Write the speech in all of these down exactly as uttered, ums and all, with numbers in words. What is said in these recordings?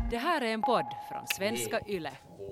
Det här är en podd från Svenska Yle.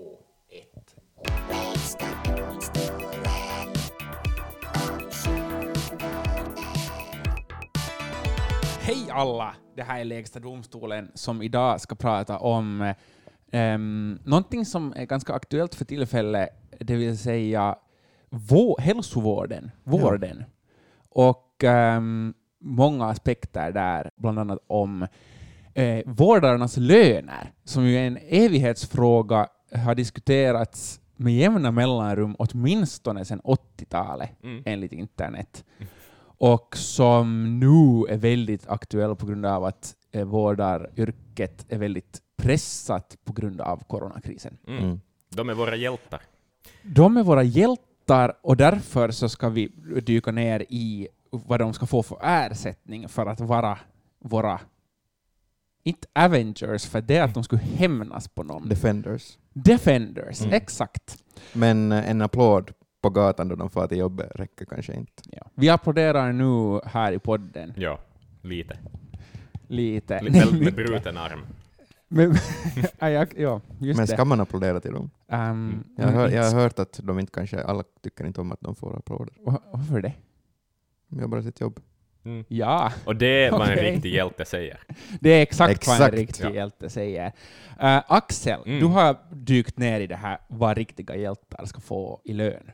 Hej alla! Det här är Lägsta domstolen som idag ska prata om um, någonting som är ganska aktuellt för tillfället, det vill säga vå- hälsovården, vården. Ja. Och um, många aspekter där, bland annat om eh, vårdarnas löner, som ju är en evighetsfråga, har diskuterats med jämna mellanrum åtminstone sedan åttiotalet, mm. enligt internet. Mm. Och som nu är väldigt aktuell på grund av att eh, vårdaryrket är väldigt pressat på grund av coronakrisen. Mm. Mm. De är våra hjältar. De är våra hjältar, och därför så ska vi dyka ner i vad de ska få för ersättning för att vara våra, inte Avengers, för det är att de skulle hämnas på någon. Defenders. Defenders, mm. exakt. Men en applåd på gatan då de får till jobbet räcker kanske inte. Ja. Vi applåderar nu här i podden. Ja, lite. Lite. L- med, med bruten arm. Men, ja, ja, just Men ska det. man applådera till dem? Um, jag, har, jag har hört att de inte kanske, alla tycker inte om att de får applåder. Varför det? De gör bara sitt jobb. Mm. Ja. Och det är vad okay. en riktig hjälte säger. Det är exakt, exakt. vad en riktig ja. hjälte säger. Uh, Axel, mm. du har dykt ner i det här vad riktiga hjältar ska få i lön.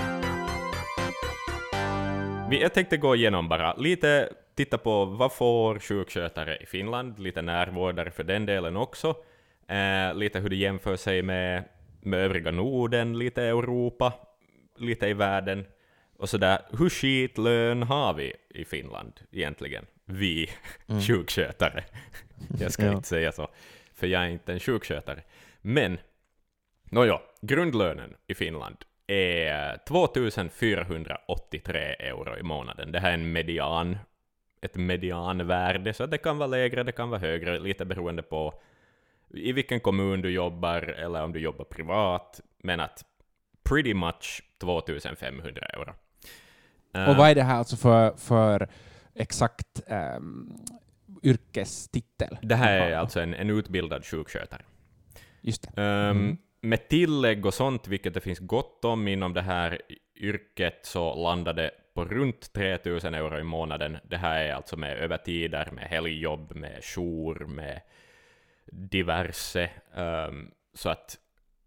Vi, jag tänkte gå igenom bara lite, titta på vad får sjukskötare i Finland, lite närvårdare för den delen också, eh, lite hur det jämför sig med, med övriga Norden, lite Europa, lite i världen, och sådär. Hur skitlön har vi i Finland egentligen? Vi mm. sjukskötare. Jag ska ja. inte säga så, för jag är inte en sjukskötare. Men, nåja, grundlönen i Finland är tvåtusenfyrahundraåttiotre euro i månaden. Det här är en median, ett medianvärde, så det kan vara lägre, det kan vara högre, lite beroende på i vilken kommun du jobbar eller om du jobbar privat, men att pretty much tvåtusenfemhundra euro. Uh, Och vad är det här alltså för, för exakt um, yrkestitel? Det här är alltså en, en utbildad sjukskötare. Just det. Um, mm. Med tillägg och sånt, vilket det finns gott om inom det här yrket, så landar det på runt tre tusen euro i månaden. Det här är alltså med övertider, med helgjobb, med jour, med diverse. Um, så att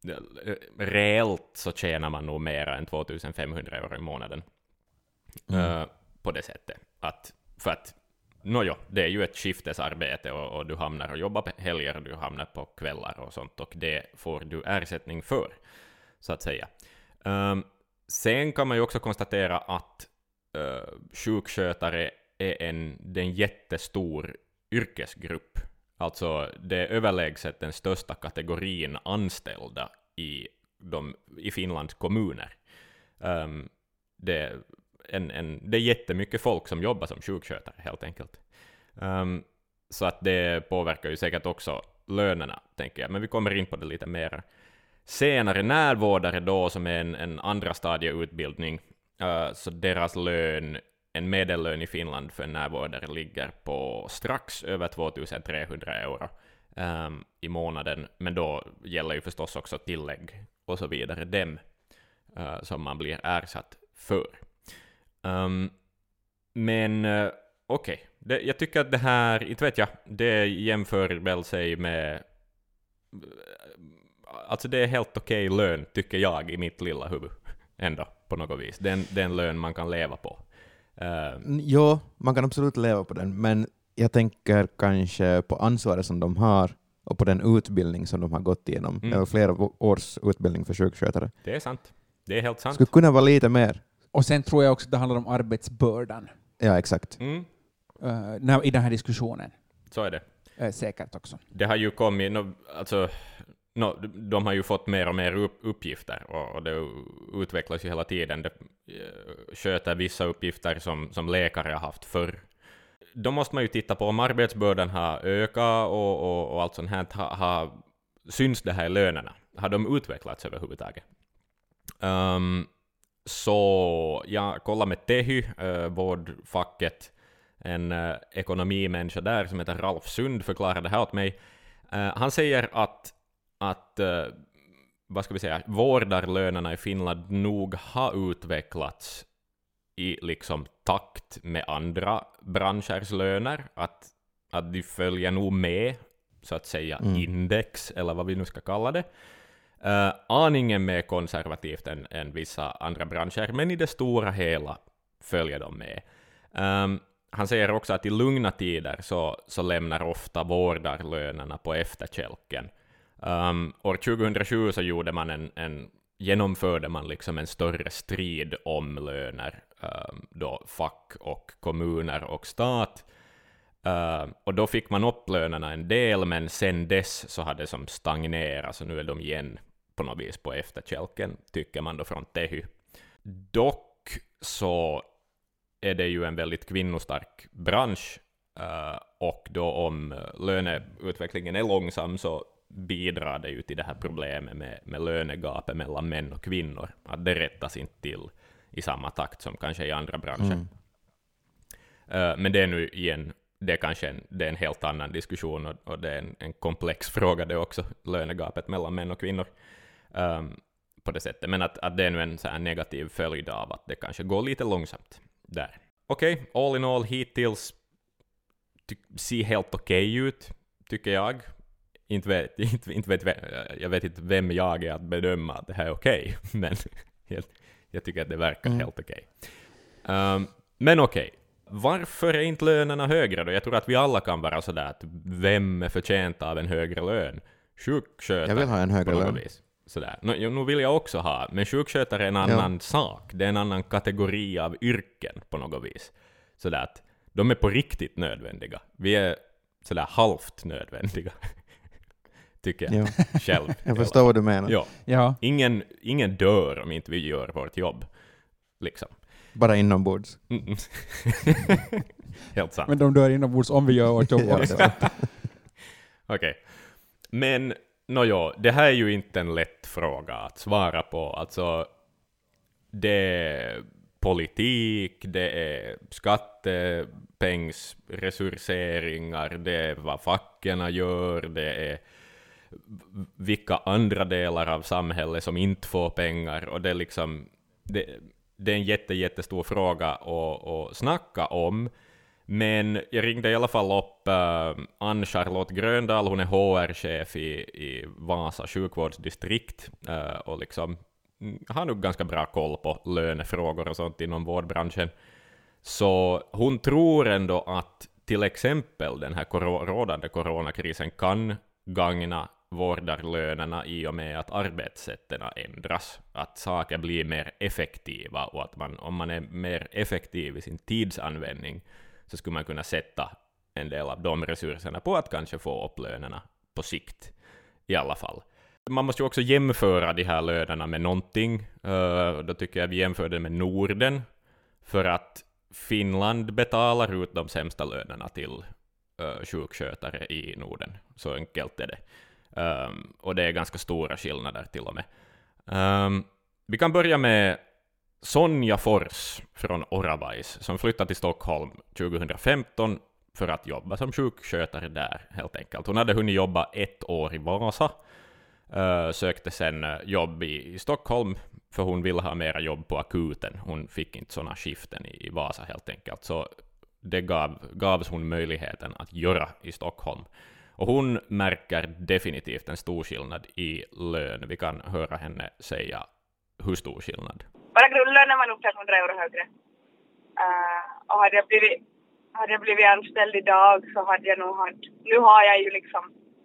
reellt så tjänar man nog mer än tvåtusenfemhundra euro i månaden. Mm. Uh, på det sättet. Att, för att Nåja, det är ju ett skiftesarbete och, och du hamnar och jobbar på helger och du hamnar på kvällar och sånt, och det får du ersättning för, så att säga. Um, sen kan man ju också konstatera att uh, sjukskötare är en, det är en jättestor yrkesgrupp. Alltså det är överlägset den största kategorin anställda i, de, i Finlands kommuner. Um, det En, en, det är jättemycket folk som jobbar som sjukskötare, helt enkelt. Um, så att det påverkar ju säkert också lönerna, tänker jag. Men vi kommer in på det lite mer senare. Närvårdare då, som är en, en andra stadieutbildning, uh, så deras lön, en medellön i Finland för en närvårdare ligger på strax över tvåtusentrehundra euro um, i månaden. Men då gäller ju förstås också tillägg och så vidare, dem uh, som man blir ersatt för. Um, men uh, okej, okay. Jag tycker att det här, inte vet jag, det jämför väl sig med, alltså det är helt okej okay lön, tycker jag, i mitt lilla huvud ändå, på något vis. Det är en, det är en lön man kan leva på. Uh, ja, man kan absolut leva på den, men jag tänker kanske på ansvaret som de har och på den utbildning som de har gått igenom. Mm. Eller flera års utbildning för sjukskötare. Det är sant, det är helt sant. Skulle kunna vara lite mer. Och sen tror jag också att det handlar om arbetsbördan. Ja, exakt. Mm. Uh, när, i den här diskussionen. Så är det. Uh, säkert också. Det har ju kommit, no, alltså, no, de har ju fått mer och mer upp, uppgifter, och, och det utvecklas ju hela tiden. Det uh, sköter vissa uppgifter som, som läkare har haft förr. Då måste man ju titta på om arbetsbördan har ökat och, och, och allt sånt här. Ha, ha, syns det här i lönerna? Har de utvecklats överhuvudtaget? Um, Så jag kollar med Tehy, äh, vårdfacket, en äh, ekonomimänniska där som heter Ralf Sund förklarade det här åt mig. Uh, han säger att, att uh, vad ska vi säga, vårdarlönerna i Finland nog har utvecklats i liksom takt med andra branschers löner, att, att de följer nog med, så att säga, mm. index, eller vad vi nu ska kalla det. Uh, aningen mer konservativt än, än vissa andra branscher, men i det stora hela följer de med. Um, han säger också att i lugna tider så, så lämnar ofta vårdarlönerna på efterkälken. Um, år tjugohundrasju så gjorde man en, en, genomförde man liksom en större strid om löner, um, då fack och kommuner och stat. Uh, och då fick man upp lönerna en del, men sen dess så hade det som stagnerat, så nu är de igen på något vis på efterkälken, tycker man då från Tehy. Dock så är det ju en väldigt kvinnostark bransch, uh, och då om löneutvecklingen är långsam så bidrar det ju till det här problemet med, med lönegapet mellan män och kvinnor, att det rättas inte till i samma takt som kanske i andra branscher. Mm. Uh, men det är nu igen, det är kanske en, det är en helt annan diskussion, och, och det är en, en komplex fråga det också, lönegapet mellan män och kvinnor. Um, på det sättet, men att, att det är nu en så här negativ följd av att det kanske går lite långsamt där. Okej, okay, all in all hittills ty- ser helt okej okay ut, tycker jag. Inte vet, inte, inte vet, jag vet inte vem jag är att bedöma att det här är okej, okay, men helt, jag tycker att det verkar mm. helt okej. Okay. Um, men okej, okay. Varför är inte lönerna högre då? Jag tror att vi alla kan vara sådär att vem är förtjänt av en högre lön? Sjukskötare. Jag vill ha en högre lön. Vis. Sådär. Nu, nu vill jag också ha, men sjukskötare är en annan ja. sak. Det är en annan kategori av yrken på något vis. Sådär att de är på riktigt nödvändiga. Vi är sådär halvt nödvändiga. Tycker jag ja. själv. Jag förstår vad du menar. Ja. Ja. Ingen, ingen dör om inte vi gör vårt jobb. Liksom. Bara inombords. Mm. Helt sant. Men de dör inombords om vi gör vårt jobb också. Okej. Okay. Men no, ja, det här är ju inte en lätt fråga att svara på. Alltså, det är politik, det är skattepengsresurseringar, det är vad fackerna gör, det är vilka andra delar av samhället som inte får pengar, och det är liksom det, det är en jätte, jättestor fråga att, att snacka om. Men jag ringde i alla fall upp uh, Ann-Charlotte Gröndal, hon är H R-chef i, i Vasa sjukvårdsdistrikt, uh, och liksom har nog ganska bra koll på lönefrågor och sånt inom vårdbranschen. Så hon tror ändå att till exempel den här kor- rådande coronakrisen kan gagna vårdarlönerna i och med att arbetssätten ändras, att saker blir mer effektiva, och att man, om man är mer effektiv i sin tidsanvändning så skulle man kunna sätta en del av de resurserna på att kanske få upp lönerna på sikt i alla fall. Man måste ju också jämföra de här lönerna med någonting. Uh, då tycker jag vi jämför det med Norden, för att Finland betalar ut de sämsta lönerna till uh, sjukskötare i Norden. Så enkelt är det. Um, och det är ganska stora skillnader till och med. Um, vi kan börja med Sonja Fors från Oravais som flyttade till Stockholm tjugohundrafemton för att jobba som sjukskötare där helt enkelt. Hon hade hunnit jobba ett år i Vasa, uh, sökte sen jobb i, i Stockholm för hon ville ha mera jobb på akuten. Hon fick inte sådana skiften i, i Vasa helt enkelt, så det gav, gavs hon möjligheten att göra i Stockholm. Och hon märker definitivt en stor skillnad i lön. Vi kan höra henne säga hur stor skillnad. Bara grundlönen var nog hundra euro högre. Uh, och hade jag, blivit, hade jag blivit anställd idag så hade jag nog haft... Nu har jag ju liksom...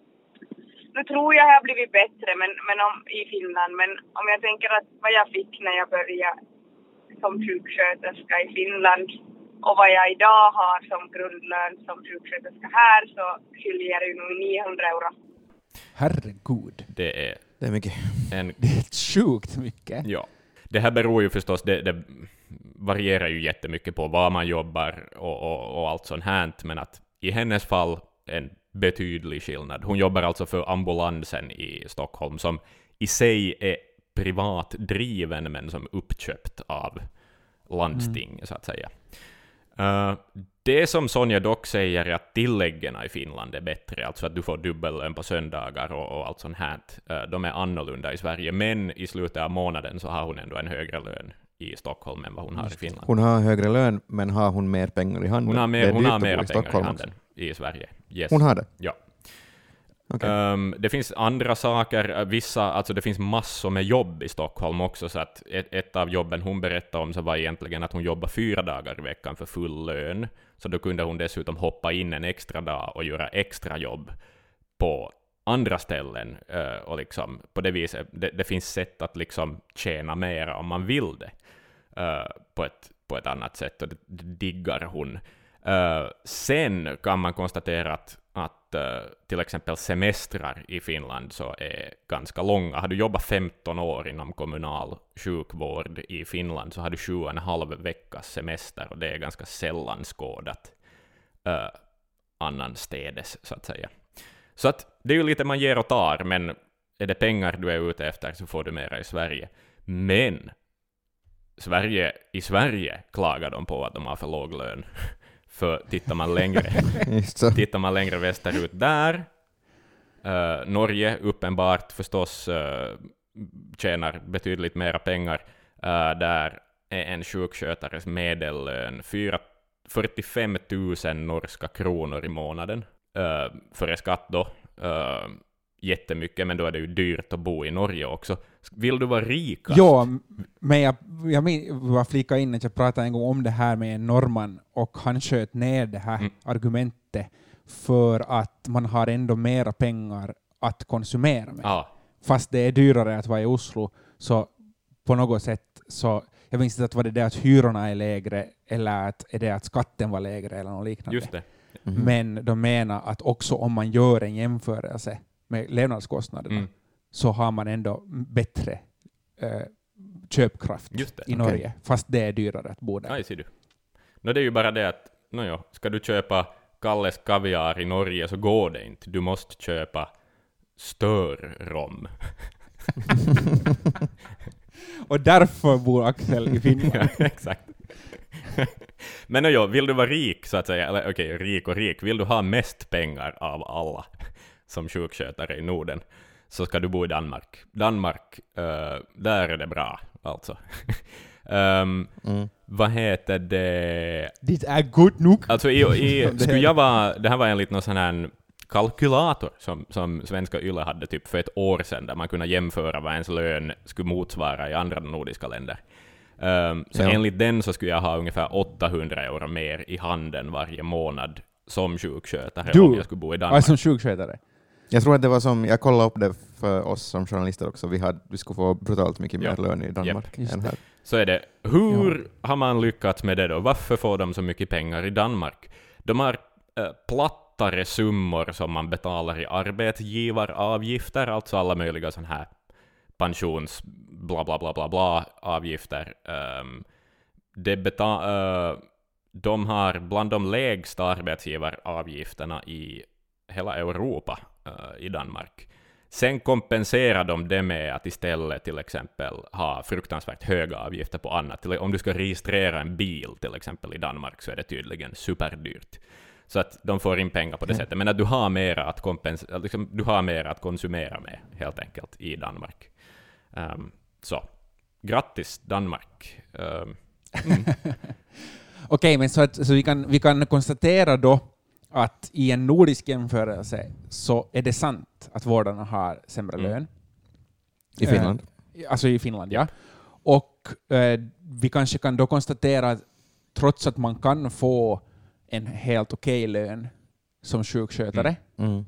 Nu tror jag jag har blivit bättre men, men om, i Finland. Men om jag tänker att vad jag fick när jag började som sjuksköterska i Finland och vad jag idag har som grundlön som sjuksköterska här, så skiljer det ju nog niohundra euro. Herregud. Det är, det är mycket. En, det är sjukt mycket. Ja. Det här beror ju förstås, det, det varierar ju jättemycket på var man jobbar och, och, och allt sånt här, men att i hennes fall en betydlig skillnad. Hon jobbar alltså för ambulansen i Stockholm som i sig är privat driven men som uppköpt av landsting mm. så att säga. Uh, det som Sonja dock säger är att tilläggen i Finland är bättre, alltså att du får dubbellön på söndagar och, och allt sånt här. Uh, de är annorlunda i Sverige, men i slutet av månaden så har hon ändå en högre lön i Stockholm än vad hon har i Finland. Hon har högre lön, men har hon mer pengar i handen? Hon har, mer, hon har mera i pengar i handen också i Sverige. Yes. Hon har det? Ja. Okay. Um, det finns andra saker, vissa, alltså det finns massor med jobb i Stockholm också, så att ett, ett av jobben hon berättade om så var egentligen att hon jobbar fyra dagar i veckan för full lön, så då kunde hon dessutom hoppa in en extra dag och göra extra jobb på andra ställen, uh, och liksom på det viset, det, det finns sätt att liksom tjäna mer om man vill det uh, på, ett, på ett annat sätt, och det, det diggar hon. Uh, sen kan man konstatera att, att uh, till exempel semestrar i Finland så är ganska långa. Har du jobbat femton år inom kommunal sjukvård i Finland så har du sju och en halv veckas semester, och det är ganska sällan skådat uh, annanstädes, så att säga. Så att det är ju lite man ger och tar, men är det pengar du är ute efter så får du mera i Sverige. Men Sverige, i Sverige klagar de på att de har för låg lön. För tittar man längre, tittar man längre västerut där, uh, Norge uppenbart förstås uh, tjänar betydligt mera pengar. Uh, där är en sjukskötares medellön fyrtiofem tusen norska kronor i månaden. Uh, före skatt då. Uh, jättemycket, men då är det ju dyrt att bo i Norge också. Vill du vara rikast? Ja, men jag, jag vill bara flika in att jag pratade en gång om det här med en norrman, och han sköt ner det här mm. argumentet för att man har ändå mera pengar att konsumera med. Ah. Fast det är dyrare att vara i Oslo, så på något sätt så, jag minns inte att var det det att hyrorna är lägre eller att är det att skatten var lägre eller något liknande. Just det. Mm-hmm. Men de menar att också om man gör en jämförelse med levnadskostnaderna mm. så har man ändå bättre äh, köpkraft i Norge, okay. fast det är dyrare att bo där. Nej, ser du. No, det är ju bara det att no, ja, ska du köpa Kalles kaviar i Norge så går det inte. Du måste köpa störrom. Och därför bor Axel i Finland. Ja, exakt. Men no, ja, vill du vara rik så att säga, eller okej, okay, rik och rik, vill du ha mest pengar av alla som sjukskötare i Norden, så ska du bo i Danmark. Danmark, uh, där är det bra, alltså. um, mm. Vad heter det? Det är gott nog. Alltså, i, i, skulle jag vara, det här var enligt någon sån här kalkylator som, som Svenska Yle hade typ för ett år sedan, där man kunde jämföra vad ens lön skulle motsvara i andra nordiska länder. Um, så ja. Enligt den så skulle jag ha ungefär åttahundra euro mer i handen varje månad som sjukskötare du, om jag skulle bo i Danmark. Ja, som sjukskötare. Jag tror att det var som, jag kollade upp det för oss som journalister också, vi, hade, vi skulle få brutalt mycket mer ja. lön i Danmark yep. än här. Så är det. Hur ja. har man lyckats med det då? Varför får de så mycket pengar i Danmark? De har äh, plattare summor som man betalar i arbetsgivaravgifter, alltså alla möjliga sån här pensions bla bla bla bla bla avgifter. Um, det beta- uh, de har bland de lägsta arbetsgivaravgifterna i hela Europa uh, i Danmark. Sen kompenserar de det med att istället till exempel ha fruktansvärt höga avgifter på annat. Om du ska registrera en bil till exempel i Danmark så är det tydligen superdyrt. Så att de får in pengar på det mm. sättet. Men att du har mer att kompens- liksom, du har mer att konsumera med helt enkelt i Danmark. Um, så, grattis Danmark. Um, mm. Okej, okay, men så, att, så vi, kan, vi kan konstatera då att i en nordisk jämförelse så är det sant att vårdarna har sämre mm. lön. I Finland? Uh, alltså i Finland, ja. Och uh, vi kanske kan då konstatera att trots att man kan få en helt okej lön som sjukskötare mm. Mm.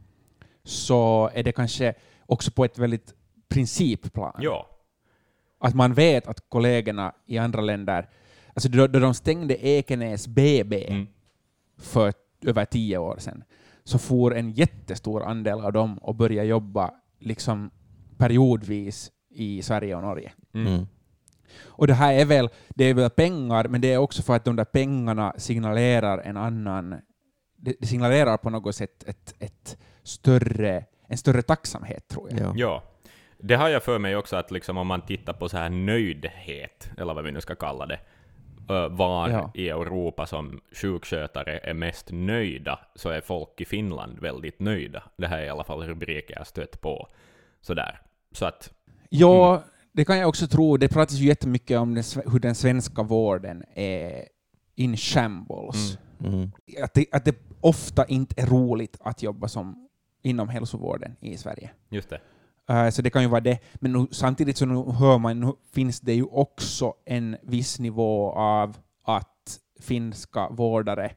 så är det kanske också på ett väldigt principplan. Ja. Att man vet att kollegorna i andra länder, alltså då, då de stängde Ekenäs B B mm. för över tio år sedan, så får en jättestor andel av dem och börja jobba liksom periodvis i Sverige och Norge. Mm. Och det här är väl, det är väl pengar, men det är också för att de där pengarna signalerar en annan, det signalerar på något sätt ett, ett större, en större tacksamhet, tror jag. Ja. ja. Det har jag för mig också, att liksom om man tittar på så här nöjdhet, eller vad vi nu ska kalla det, uh, var Ja. i Europa som sjukskötare är mest nöjda, så är folk i Finland väldigt nöjda. Det här är i alla fall rubriker jag stött på. Sådär. Så att... Ja, Mm. det kan jag också tro. Det pratas ju jättemycket om den, sve- hur den svenska vården är in shambles. Mm. Mm. Att, det, att det ofta inte är roligt att jobba som inom hälsovården i Sverige. Just det. Uh, så det kan ju vara det. Men nu, samtidigt så nu hör man, nu finns det ju också en viss nivå av att finska vårdare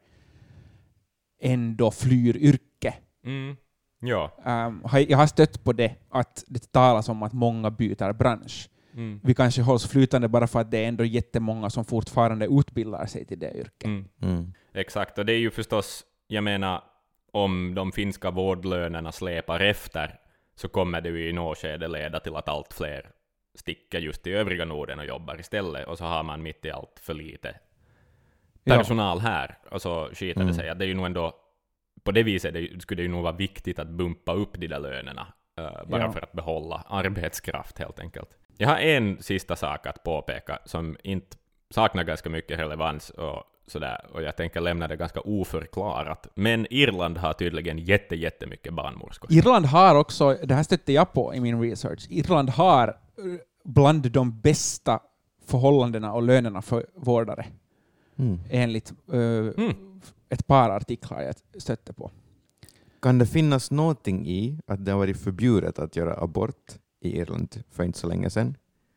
ändå flyr yrke. Mm. Ja. Um, har- jag har stött på det, att det talas om att många byter bransch. Mm. Vi kanske hålls flytande bara för att det är ändå jättemånga som fortfarande utbildar sig till det yrket. Mm. Mm. Exakt, och det är ju förstås, jag menar, om de finska vårdlönerna släpar efter så kommer det ju i något skede leda till att allt fler sticker just i övriga Norden och jobbar istället, och så har man mitt i allt för lite personal här, och så skiter Mm. det sig. Att det är ju nog ändå, på det viset det, skulle det ju nog vara viktigt att bumpa upp de där lönerna, uh, bara Ja. för att behålla arbetskraft helt enkelt. Jag har en sista sak att påpeka som inte saknar ganska mycket relevans och sådär, och jag tänker lämna det ganska oförklarat. Men Irland har tydligen jätte, jättemycket barnmorskor. Irland har också, det här stötte jag på i min research, Irland har eh, bland de bästa förhållandena och lönerna för vårdare, Mm. enligt eh, Mm. ett par artiklar jag stötte på. Kan det finnas någonting i att det har varit förbjudet att göra abort i Irland för inte så länge sedan?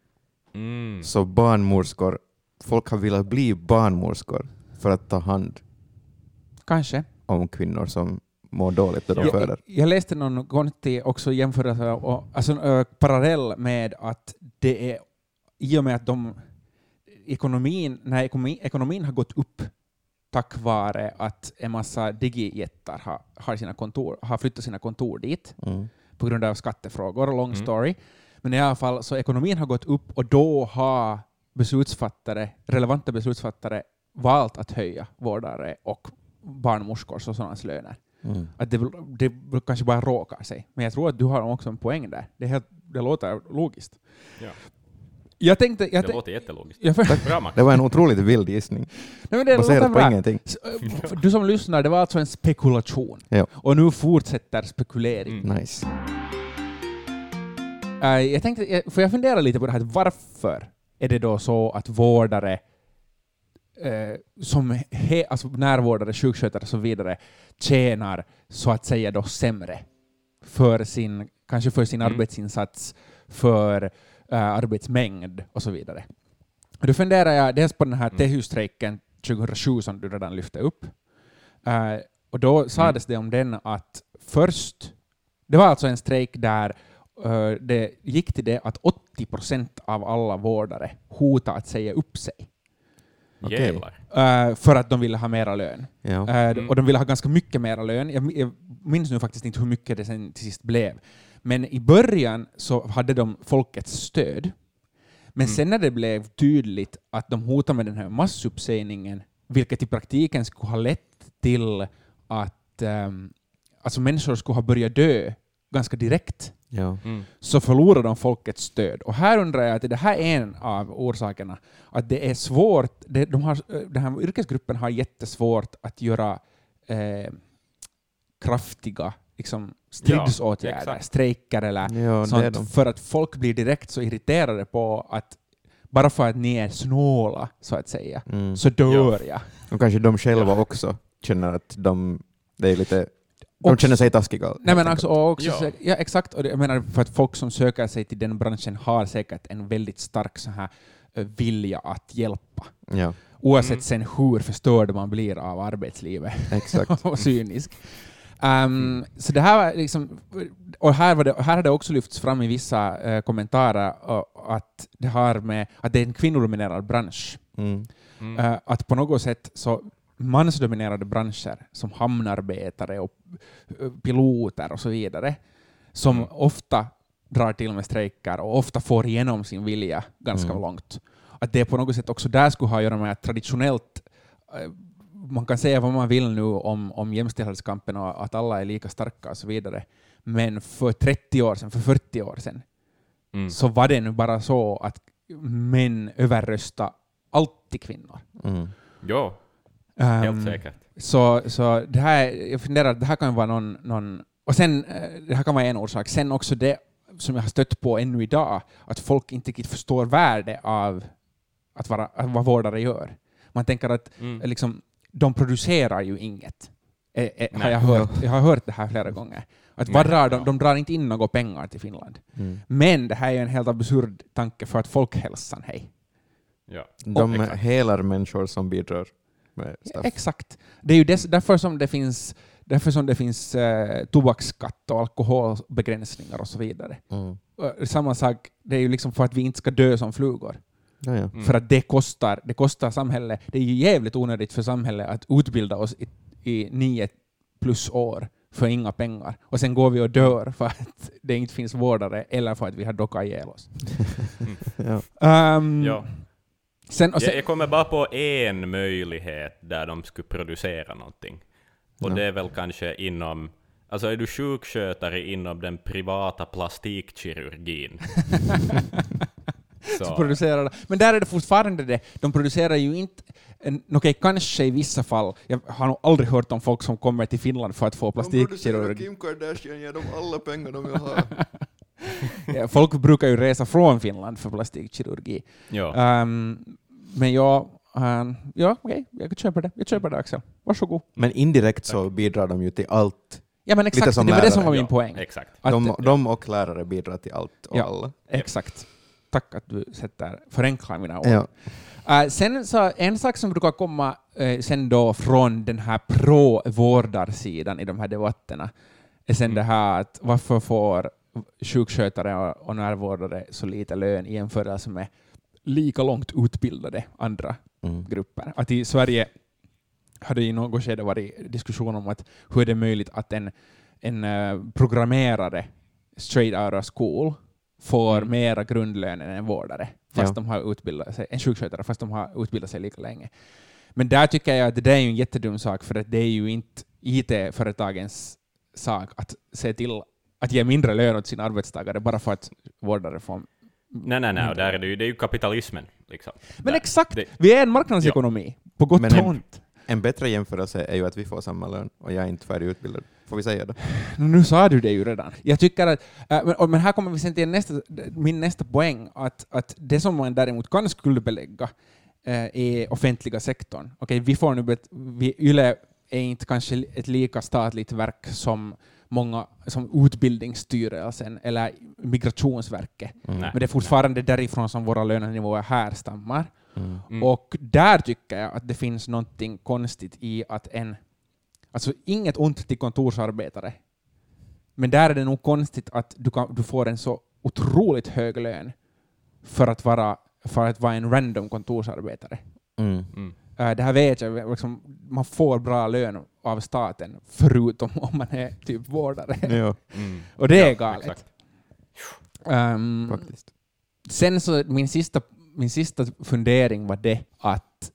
Mm. Så barnmorskor, folk har velat bli barnmorskor för att ta hand Kanske. om kvinnor som mår dåligt då de Ja. föder. Jag, jag läste någon gång till också jämförelse och alltså, uh, parallell med att det är i och med att de ekonomin, när ekonomi, ekonomin har gått upp tack vare att en massa digijättar har, har, sina kontor, har flyttat sina kontor dit Mm. på grund av skattefrågor, long Mm. story. Men i alla fall så ekonomin har gått upp och då har beslutsfattare, relevanta beslutsfattare valt att höja vårdare och barnmorskors och sådana löner. Mm. Att det, det kanske bara råkar sig. Men jag tror att du har också en poäng där. Det, är helt, det låter logiskt. Ja. Jag tänkte... Jag Det te- låter jättelogiskt. jag för, Bra, Max. Det var en otroligt vild gissning. nej, men det Baserat låter på bra. ingenting. S- äh, Du som lyssnar, det var alltså en spekulation. Ja. Och nu fortsätter spekulering. Mm. Nice. Äh, jag tänkte, jag- för jag funderar lite på det här, varför är det då så att vårdare eh, som he, alltså närvårdare, sjukskötare och så vidare tjänar så att säga då sämre för sin, kanske för sin Mm. arbetsinsats, för eh, arbetsmängd och så vidare. Och då funderar jag dels på den här Mm. T H U-strejken tjugohundrasju som du redan lyfte upp. Eh, och då sades det om den att först, det var alltså en strejk där eh, det gick till det att åttio procent av alla vårdare hotade att säga upp sig. Okej. Jävlar. Uh, för att de ville ha mera lön. Ja. Uh, Mm. Och de ville ha ganska mycket mera lön. Jag, jag minns nu faktiskt inte hur mycket det sen till sist blev. Men i början så hade de folkets stöd. Men Mm. sen när det blev tydligt att de hotade med den här massuppsägningen, vilket i praktiken skulle ha lett till att um, alltså människor skulle ha börjat dö ganska direkt, Ja. Mm. så förlorar de folkets stöd. Och här undrar jag att det här är en av orsakerna. Att det är svårt, det, de har, den här yrkesgruppen har jättesvårt att göra eh, kraftiga liksom, stridsåtgärder, exakt. strejker eller Ja, det är sånt, de. för att folk blir direkt så irriterade på att bara för att ni är snåla, så att säga, Mm. så dör jag. Och kanske de själva Ja. också känner att de, det är lite, de Och- känner sig taskiga. Nej, helt men enkelt. alltså, och också, Ja. ja. ja, exakt. Och det, jag menar, för att folk som söker sig till den branschen har säkert en väldigt stark så här, eh, vilja att hjälpa. Ja, Oavsett Mm. sen hur förstörd man blir av arbetslivet exakt. och cynisk. Um, så det här var liksom, och här, var det, här har det också lyfts fram i vissa eh, kommentarer uh, att det har med att det är en kvinnodominerad bransch. Mm. Mm. Uh, att på något sätt så mansdominerade branscher som hamnarbetare och uh, piloter och så vidare, som Mm. ofta drar till med strejker och ofta får igenom sin vilja ganska Mm. långt. Att det på något sätt också där skulle ha att göra med att traditionellt, uh, man kan säga vad man vill nu om, om jämställdhetskampen och att alla är lika starka och så vidare, men för trettio år sedan, för fyrtio år sedan, Mm. så var det nu bara så att män överrösta alltid kvinnor. Mm. Jo, Um, helt säkert. Så, så det här, jag funderar att det här kan vara någon, någon... Och sen, det här kan vara en orsak. Sen också det som jag har stött på ännu idag, att folk inte riktigt förstår värde av att vara, att vad vårdare gör. Man tänker att Mm. liksom, de producerar ju inget. Eh, eh, har Nej. jag, hört, jag har hört det här flera gånger. Att Nej, vad drar de, ja. de drar inte in några pengar till Finland. Mm. Men det här är ju en helt absurd tanke för att folkhälsan, hej. Ja. De exakt. helar människor som bidrar med stuff. Exakt. Det är ju dess, därför som det finns, därför som det finns eh, tobaksskatt och alkoholbegränsningar och så vidare. Mm. Och samma sak, det är ju liksom för att vi inte ska dö som flugor. Ja, ja. Mm. För att det kostar, det kostar samhället. Det är ju jävligt onödigt för samhället att utbilda oss i, i nio plus år för inga pengar. Och sen går vi och dör för att det inte finns vårdare eller för att vi har dockat ihjäl oss. Ja. Um, Ja. sen, och sen, Jag, jag kommer bara på en möjlighet där de skulle producera någonting. Och Ja. det är väl kanske inom... Alltså är du sjukskötare inom den privata plastikkirurgin? så så, producerar, men där är det fortfarande det. De producerar ju inte... en- Okej, kanske i vissa fall. Jag har nog aldrig hört om folk som kommer till Finland för att få plastikkirurg. Kim Kardashian ger dem alla pengar de vill ha. Ja, folk brukar ju resa från Finland för plastikkirurgi. ja. Um, men jag... Um, ja, okej, jag köper det. Jag köper det, Axel. Varsågod. Men indirekt så bidrar de ju till allt. Ja, men Lite exakt. som Det var det som lärare, var min ja, poäng. Exakt. Att, De, de och lärare bidrar till allt och Ja. alla. Exakt. Tack att du sätter förenklar mina ord. Ja. Uh, sen så en sak som brukar komma uh, sen då från den här pro-vårdarsidan i de här debatterna är sen Mm. det här att varför får sjukskötare och, och närvårdare så lite lön i jämförelse med lika långt utbildade andra Mm. grupper. Att i Sverige hade i något skede varit diskussion om att hur är det möjligt att en, en uh, programmerare straight out of school får Mm. mera grundlön än en vårdare, fast Ja. de har utbildat sig, en sjukskötare, fast de har utbildat sig lika länge. Men där tycker jag att det där är ju en jättedum sak, för att det är ju inte I T-företagens sak att se till att ge mindre lön åt sina arbetstagare bara för att vårdare får... Nej, nej, nej. Och där är det, ju, det är ju kapitalismen. Liksom. Men Där. exakt! Det, Vi är en marknadsekonomi, på gott Men och en- ont. En bättre jämförelse är ju att vi får samma lön och jag är inte färdigutbildad. Får vi säga det? Nu sa du det ju redan. Jag tycker att, äh, men, och, men här kommer vi sen till nästa, min nästa poäng, att, att det som man däremot kan skuldbelägga äh, är offentliga sektorn. Okej, vi får nu bet, vi, Yle är inte kanske ett lika statligt verk som många, som Utbildningsstyrelsen eller Migrationsverket. Mm. Nej. Men det är fortfarande därifrån som våra lönenivåer härstammar. Mm. Mm. Och där tycker jag att det finns någonting konstigt i att en... Alltså inget ont till kontorsarbetare. Men där är det nog konstigt att du, kan, du får en så otroligt hög lön för att vara, för att vara en random kontorsarbetare. Mm. Mm. Uh, det här vet jag, liksom, man får bra lön av staten förutom om man är typ vårdare. Ja, Mm. Och det är Ja, galet. exakt. Um, faktiskt. Sen så min sista, min sista fundering var det att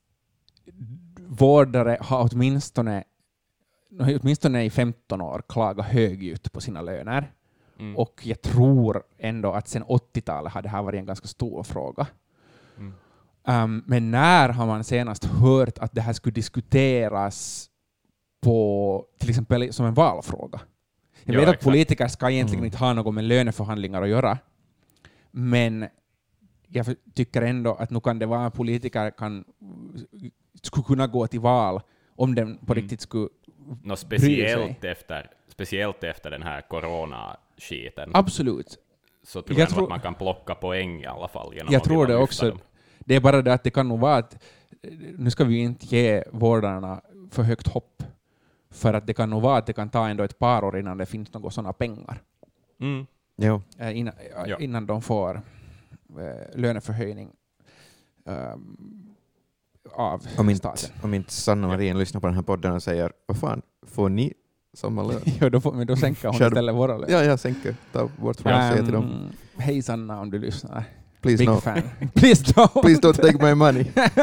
vårdare har åtminstone, åtminstone i femton år klagat högljutt på sina löner. Mm. Och jag tror ändå att sen åttiotalet har det här varit en ganska stor fråga. Mm. Um, men när har man senast hört att det här skulle diskuteras på till exempel som en valfråga? Jag Ja, vet att exakt. politiker ska egentligen Mm. inte ha något med löneförhandlingar att göra, men jag för- tycker ändå att nu kan det vara att politiker kan, skulle kunna gå till val om den på Mm. riktigt skulle Nå, sig. speciellt, efter, speciellt efter den här corona-skiten absolut. så tror jag jag, nog tror- att man kan plocka poäng i alla fall. Genom Jag att tror vilja det lyfta också. dem. Det är bara det att det kan nog vara att nu ska vi ju inte ge vårdarna för högt hopp, för att det kan nog vara att det kan ta ändå ett par år innan det finns några sådana pengar. Mm. Jo. Eh, Innan, Ja. innan de får eh, löneförhöjning ehm, av Om inte, staten. om inte Sanna Marin lyssnar på den här podden och säger vad fan, får ni samma lön? Jo, då, får, men då sänker hon Själv- istället våra löner. Ja, jag sänker. Ta bort från att säga till dem. Ehm, Hej Sanna, om du lyssnar. Please Big no. fan. Please don't. Please don't take my money.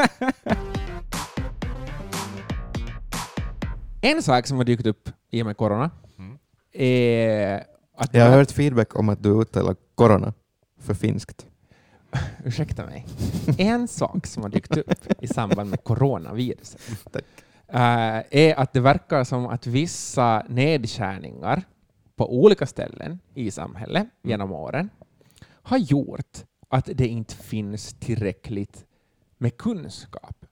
En sak som har dykt upp i och med corona Mm. är att Jag har hört feedback om att du uttalar corona för finskt. ursäkta mig. En sak som har dykt upp i samband med coronaviruset uh, är att det verkar som att vissa nedskärningar på olika ställen i samhället genom åren har gjort att det inte finns tillräckligt med kunskap.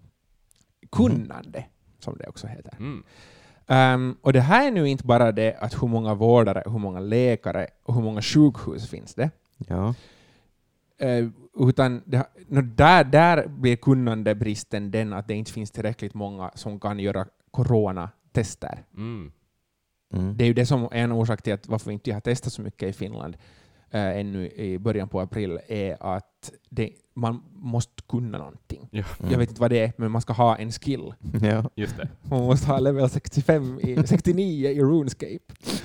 Kunnande, som det också heter. Mm. Um, och det här är nu inte bara det att hur många vårdare, hur många läkare och hur många sjukhus finns det. Ja. Uh, utan det, no, där, där blir kunnandebristen den att det inte finns tillräckligt många som kan göra coronatester. Mm. Mm. Det är ju det som är en orsak till att varför vi inte har testat så mycket i Finland uh, ännu i början på april är att det, man måste kunna någonting. Ja. Mm. Jag vet inte vad det är, men man ska ha en skill. Ja. Just det. Man måste ha level sextiofem i, sextionio i RuneScape.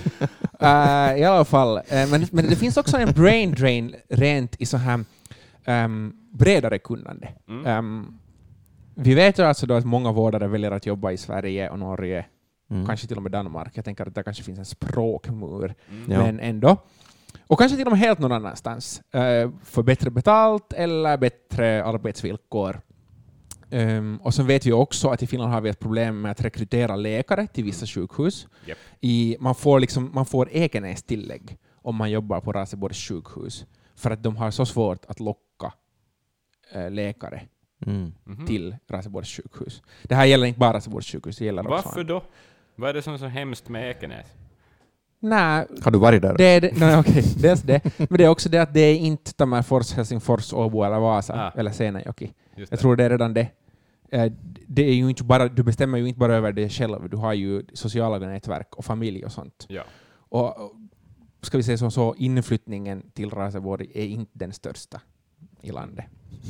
Uh, I alla fall. Uh, men, men det finns också en brain drain rent i så här um, bredare kunnande. Mm. Um, vi vet ju alltså då att många vårdare väljer att jobba i Sverige och Norge, Mm. kanske till och med Danmark. Jag tänker att det kanske finns en språkmur, Mm. Ja. men ändå. Och kanske till och med helt någon annanstans. Uh, för bättre betalt eller bättre arbetsvillkor. Um, och så vet vi också att i Finland har vi ett problem med att rekrytera läkare till vissa sjukhus. Yep. I, man får, liksom, man får Ekenäs-tillägg om man jobbar på Raseborgs sjukhus. För att de har så svårt att locka uh, läkare Mm. Mhm. till Raseborgs sjukhus. Det här gäller inte bara Raseborgs sjukhus, det gäller också... Varför då? Vad är det som är så hemskt med Ekenäs? Nej, Har du varit där? det är det, nej, okej, dels det. Men det är också det att det är inte Tammerfors, Helsingfors, Åbo eller Vasa Ah. eller Seinäjoki. Just Jag det. tror det är redan det. Eh, Det är ju inte bara, du bestämmer ju inte bara över det själv, du har ju sociala nätverk och familj och sånt. Ja. Och och ska vi säga så, så inflyttningen till Raseborg är inte den största i landet.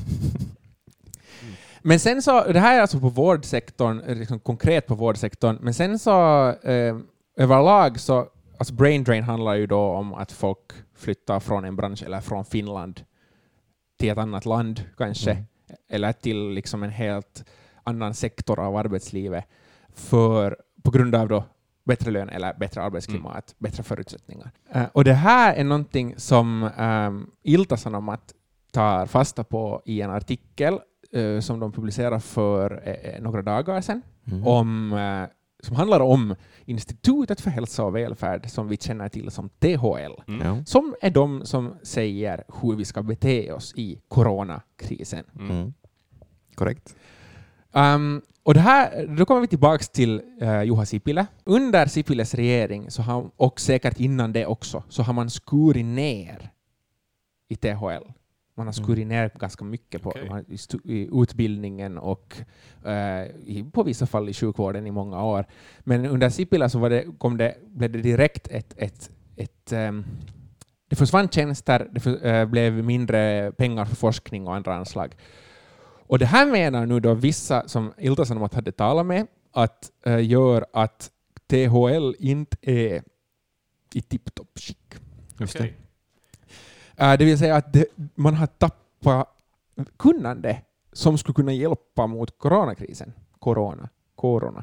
Men sen så, det här är alltså på vårdsektorn, liksom konkret på vårdsektorn, men sen så eh, överlag så, alltså brain drain handlar ju då om att folk flyttar från en bransch eller från Finland till ett annat land kanske, Mm. eller till liksom en helt annan sektor av arbetslivet för, på grund av då bättre lön eller bättre arbetsklimat, bättre förutsättningar. Uh, och det här är någonting som um, Ilta-Sanomat tar fasta på i en artikel uh, som de publicerade för uh, några dagar sedan, Mm. om, uh, som handlar om Institutet för hälsa och välfärd som vi känner till som T H L. Mm. Ja. Som är de som säger hur vi ska bete oss i coronakrisen. Mm. Mm. Korrekt. Um, och det här, då kommer vi tillbaka till uh, Juha Sipilä. Under Sipiläs regering, så har, och säkert innan det också, så har man skurit ner i T H L. Man har skurit ner ganska mycket på Okej. man, i, stu, i utbildningen och uh, i, på vissa fall i sjukvården i många år. Men under Sipilä så var det, kom det, blev det direkt ett... ett, ett um, det försvann tjänster, det för, uh, blev mindre pengar för forskning och andra anslag. Och det här menar nu då vissa som Ilta-Sanomat hade talat med att uh, gör att T H L inte är i tipptopp skick. Just Okej. Uh, det vill säga att det, man har tappat kunnande som skulle kunna hjälpa mot coronakrisen. Corona. Corona.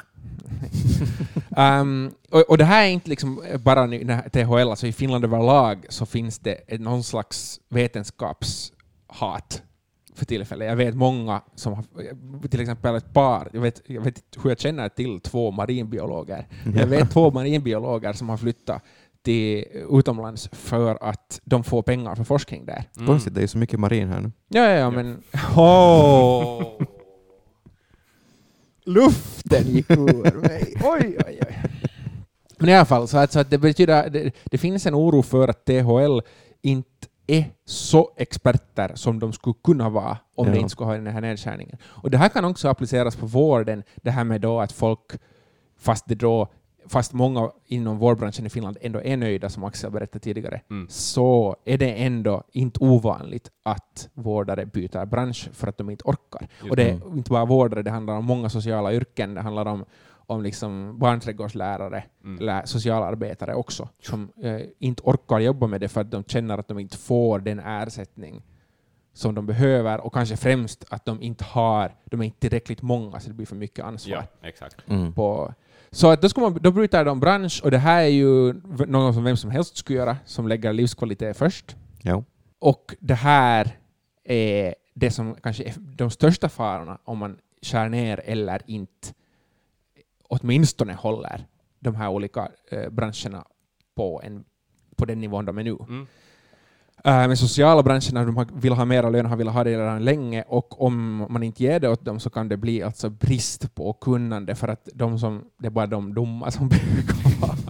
um, och, och det här är inte liksom bara nu, T H L, alltså i Finland överlag så finns det ett, någon slags vetenskapshat för tillfället. Jag vet många som har, till exempel ett par, jag vet, jag vet inte hur jag känner till två marinbiologer. Jag vet två marinbiologer som har flyttat till utomlands för att de får pengar för forskning där. Mm. Konstigt, det är ju så mycket marin här nu. Ja, ja, ja, men... Oh. Luften gick ur mig. Oj, oj, oj. Men i alla fall, så att, så att det betyder... Det, det finns en oro för att T H L inte är så experter som de skulle kunna vara om Ja. det inte skulle ha den här nedskärningen. Och det här kan också appliceras på vården, det här med då att folk, fast det då fast många inom vårdbranschen i Finland ändå är nöjda, som Axel berättade tidigare, Mm. så är det ändå inte ovanligt att vårdare byter bransch för att de inte orkar. Just och det är det. inte bara vårdare, det handlar om många sociala yrken, det handlar om, om liksom barnträdgårdslärare, Mm. eller socialarbetare också, som eh, inte orkar jobba med det för att de känner att de inte får den ersättning som de behöver, och kanske främst att de inte har, de är inte tillräckligt många så det blir för mycket ansvar. Ja, exakt. Mm. På, så att då, ska man, då bryter de bransch, och det här är ju något som vem som helst skulle göra, som lägger livskvalitet först. Ja. Och det här är det som kanske är de största farorna om man skär ner eller inte åtminstone håller de här olika eh, branscherna på, en, på den nivån de är nu. Mm. Uh, med sociala branscherna, de vill ha mera lön, har velat ha det redan länge, och om man inte ger det åt dem så kan det bli alltså brist på kunnande, för att de som, det är bara de dumma som brukar vara.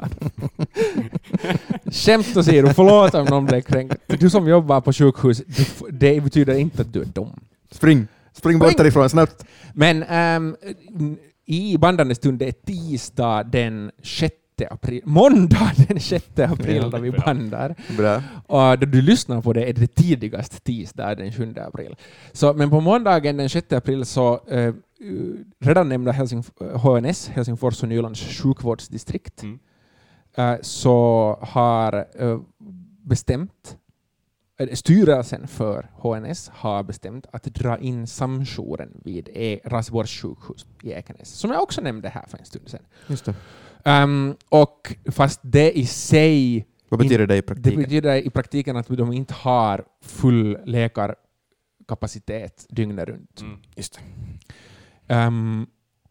Skämt åsido, förlåt om någon blir kränkt. Du som jobbar på sjukhus, du, det betyder inte att du är dum. Spring! Spring bort därifrån snabbt! Men um, i bandande stund, det är tisdag den sjätte april. Måndag den sjätte april då vi bandar. Bra. Och då du lyssnar på det är det tidigast tisdag den sjunde april. Så, men på måndagen den sjätte april så uh, redan nämnda Helsing- H N S, Helsingfors och Nylands sjukvårdsdistrikt, Mm. uh, så har uh, bestämt styrelsen för H N S har bestämt att dra in samjouren vid e- Raseborgs sjukhus i Ekenäs, som jag också nämnde här för en stund sedan. Just det. Um, och fast det i sig... Vad betyder det i Det praktiken? betyder i praktiken att de inte har full läkarkapacitet dygnet runt. Mm. Just det. Um,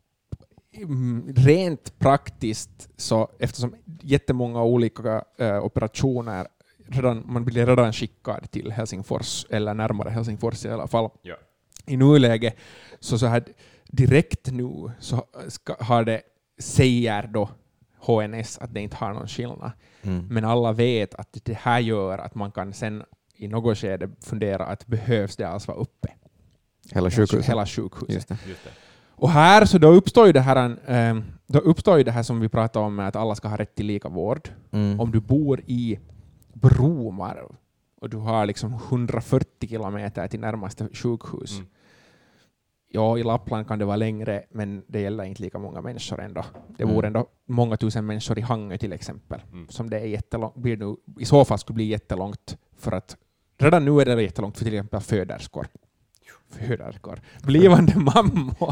rent praktiskt, så eftersom jättemånga olika uh, operationer redan, man blir redan skickad till Helsingfors, eller närmare Helsingfors i alla fall. Ja. I nuläget, så, så här direkt nu så ska, har det, säger då H N S att det inte har någon skillnad. Mm. Men alla vet att det här gör att man kan sen i något skede fundera att behövs det alls vara uppe? Hela sjukhuset. Hela sjukhuset. Just det. Just det. Och här så då uppstår ju det här, um, då uppstår ju det här som vi pratade om, med att alla ska ha rätt till lika vård. Mm. Om du bor i Bromarv och du har liksom hundrafyrtio kilometer till närmaste sjukhus. Mm. Ja, i Lappland kan det vara längre, men det gäller inte lika många människor ändå. Det Mm. vore ändå många tusen människor i Hangö till exempel. Mm. Som det är jättelångt, blir nu, i så fall skulle bli jättelångt, för att redan nu är det jättelångt för till exempel föderskor. Föderskor. Blivande mammor.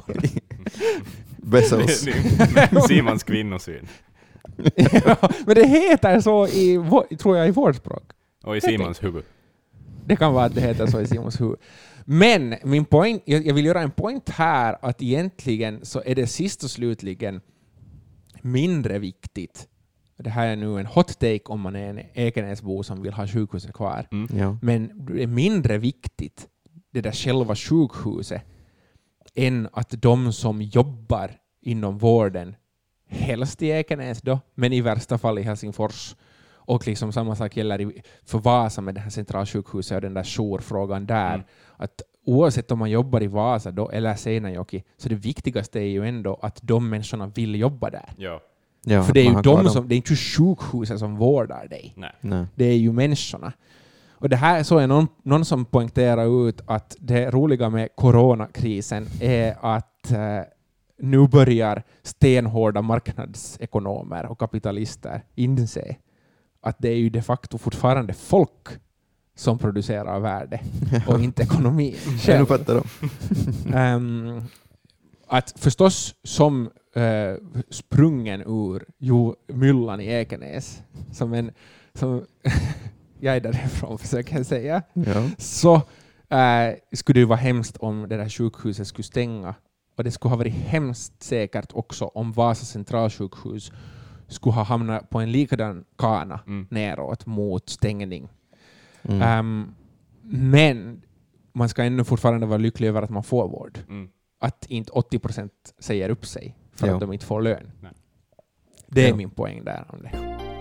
Bezos. Simons kvinnosyn. Ja, men det heter så i, vår- tror jag, i vårt språk. Och i Simons huvud. Det kan vara att det heter så i Simons huvud. Men min point, jag jag vill göra en point här, att egentligen så är det sist och slutligen mindre viktigt. Det här är nu en hot take om man är en Ekenäsbo som vill ha sjukhuset kvar. Mm. Ja. Men det är mindre viktigt, det där själva sjukhuset, än att de som jobbar inom vården, helst i Ekenäs då, men i värsta fall i Helsingfors, och liksom samma sak gäller i, för Vasa med det här centralsjukhuset och den där jourfrågan där, Mm. att oavsett om man jobbar i Vasa då eller Seinäjoki, så det viktigaste är ju ändå att de människorna vill jobba där. Ja. Ja, För det är man ju har kvar de dem. som, det är inte sjukhuset som vårdar dig. Nej. Nej. Det är ju människorna. Och det här så är någon, någon som poängterar ut att det roliga med coronakrisen är att eh, nu börjar stenhårda marknadsekonomer och kapitalister inse att det är ju de facto fortfarande folk som producerar värde och inte ekonomi. Jag nu fattar de. um, att förstås som uh, sprungen ur jo, myllan i Ekenäs, som en som jag är därifrån försöker jag säga, Ja. så uh, skulle det vara hemskt om det där sjukhuset skulle stänga. Och det skulle ha varit hemskt säkert också om Vasa centralsjukhus skulle ha hamnat på en likadan kana Mm. neråt mot stängning. Mm. Um, men man ska ännu fortfarande vara lycklig över att man får vård. Mm. Att inte åttio procent säger upp sig för Ja. att de inte får lön. Nej. Det är Ja. min poäng där om det.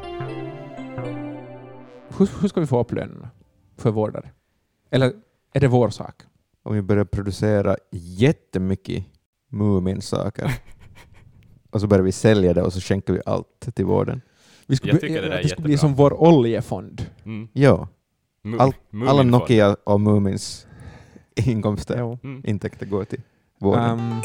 Hur, hur ska vi få upp lönerna för vårdare? Eller är det vår sak? Om vi börjar producera jättemycket Moomin-saker och så börjar vi sälja det och så skänker vi allt till vården. Vi skulle, Jag tycker det där är det skulle bli jättebra. som vår oljefond. Mm. Ja, Mu- Allt- Muminfond. alla Nokia och Moomins inkomster, Jo. Mm. intäkter går till vården. Um,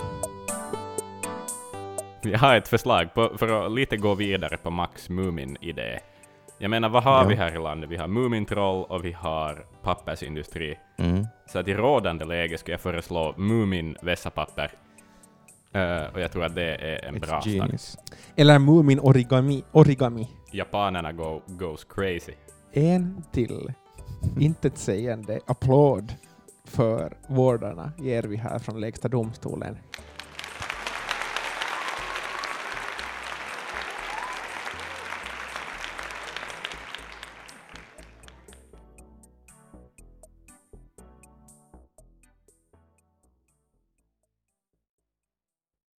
Jag har ett förslag på, för att lite gå vidare på Max Mumin-idé. Jag menar, vad har Ja. vi här i landet? Vi har Mumintroll och vi har pappersindustri. Mm. Så att i rådande läge ska jag föreslå Mumin vässapapper. Uh, och jag tror att det är en It's bra start. genius. eller Moomin origami. origami. Japanerna go, goes crazy. En till intetsägande applåd för vårdarna ger vi här från Lägsta domstolen.